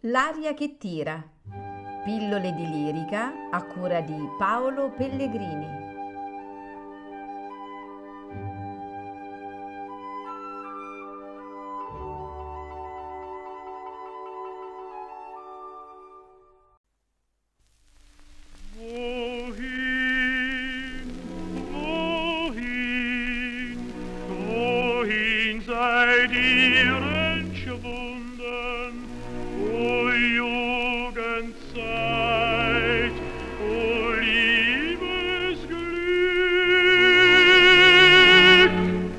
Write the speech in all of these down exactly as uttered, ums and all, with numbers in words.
L'aria che tira. Pillole di lirica a cura di Paolo Pellegrini. Wohin, wohin, wohin seid ihr entschwunden, o Jugendzeit, o Liebesglück?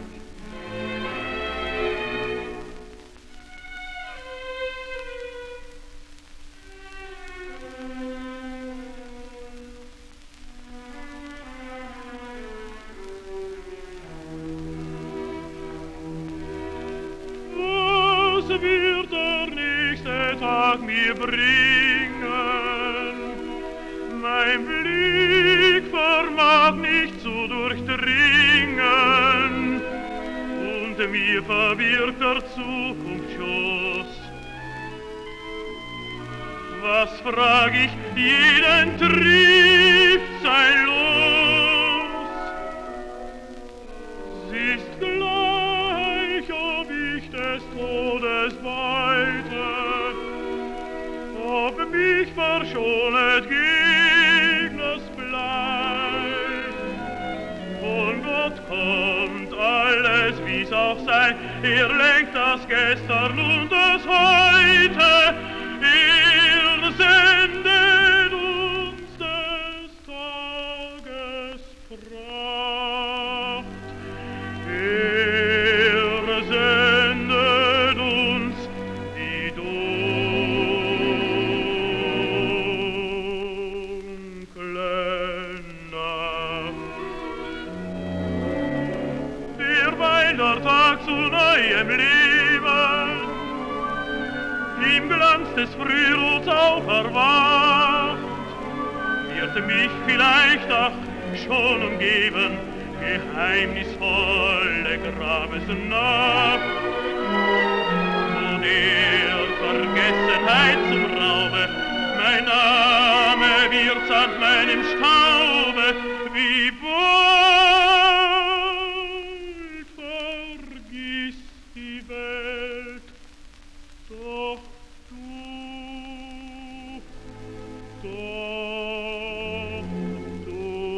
Was wird der nächste Tag mir bringen? Mein Blick vermag nicht zu durchdringen, und mir verbirgt der Zukunft Schoß. Was frag ich, jeden trifft sein Los. Es ist gleich, ob ich des Todes beute, ob mich verschonet Gegners Blei. Von Gott kommt alles, wie's auch sei, er lenkt das Gestern und das Heute, er sendet uns des Tages Pracht. Er sendet uns die dunkle Nacht. Derweil der Tag zu neuem Leben im Glanz des Frührots auch erwacht, wird mich vielleicht ach schon umgeben geheimnisvolle Grabesnacht, wo der Vergessenheit zum Raube mein Name wird an meinem Staube, wie bald vergisst die Welt, doch du, doch du.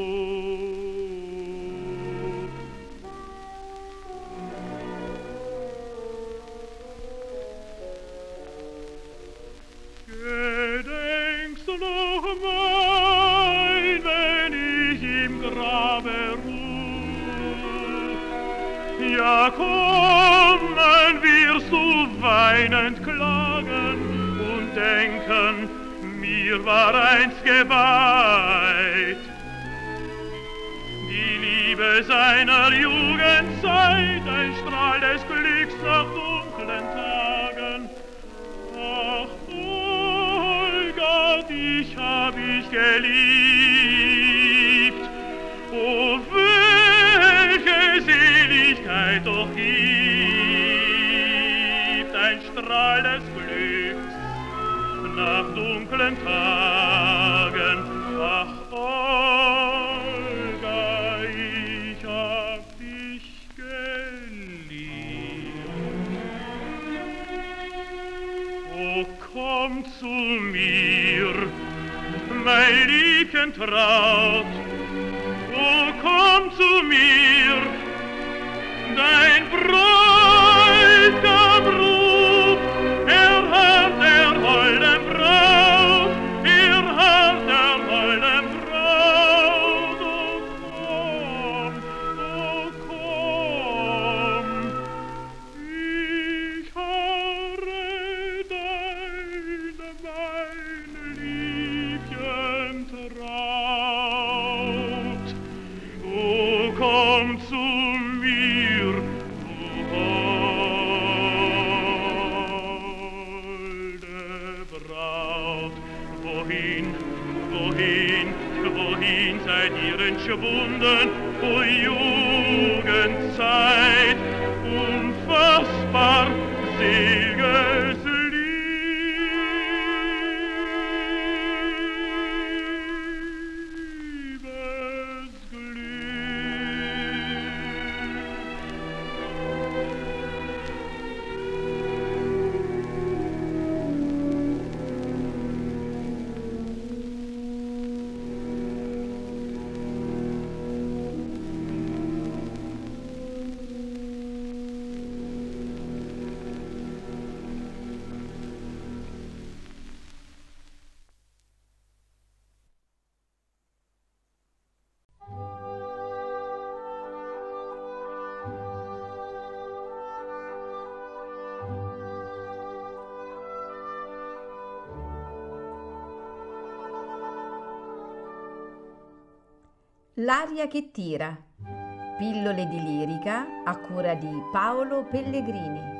Gedenkst du noch mein, wenn ich im Grabe ruh? Ja, kommen wirst du weinend klagen und denken, mir war einst geweiht die Liebe seiner Jugendzeit, ein Strahl des Glücks nach dunklen Tagen. Ach, Olga, dich hab ich geliebt, oh, welche Seligkeit doch gibt ein Strahl des Glücks nach dunklen Tagen. Ach, Olga, ich hab dich geliebt. Oh, komm zu mir, mein Liebchen traut. Oh, komm zu mir, dein Bräutigam ruft, er hört der holden Braut, er hört der holden Braut. Oh, komm, oh, komm, ich harre deine, mein Liebchen traut. Oh, komm zu mir, du holde Braut. Wohin, wohin, wohin seid ihr entschwunden, o Jugendzeit, unfassbar selges Lied? L'aria che tira. Pillole di lirica a cura di Paolo Pellegrini.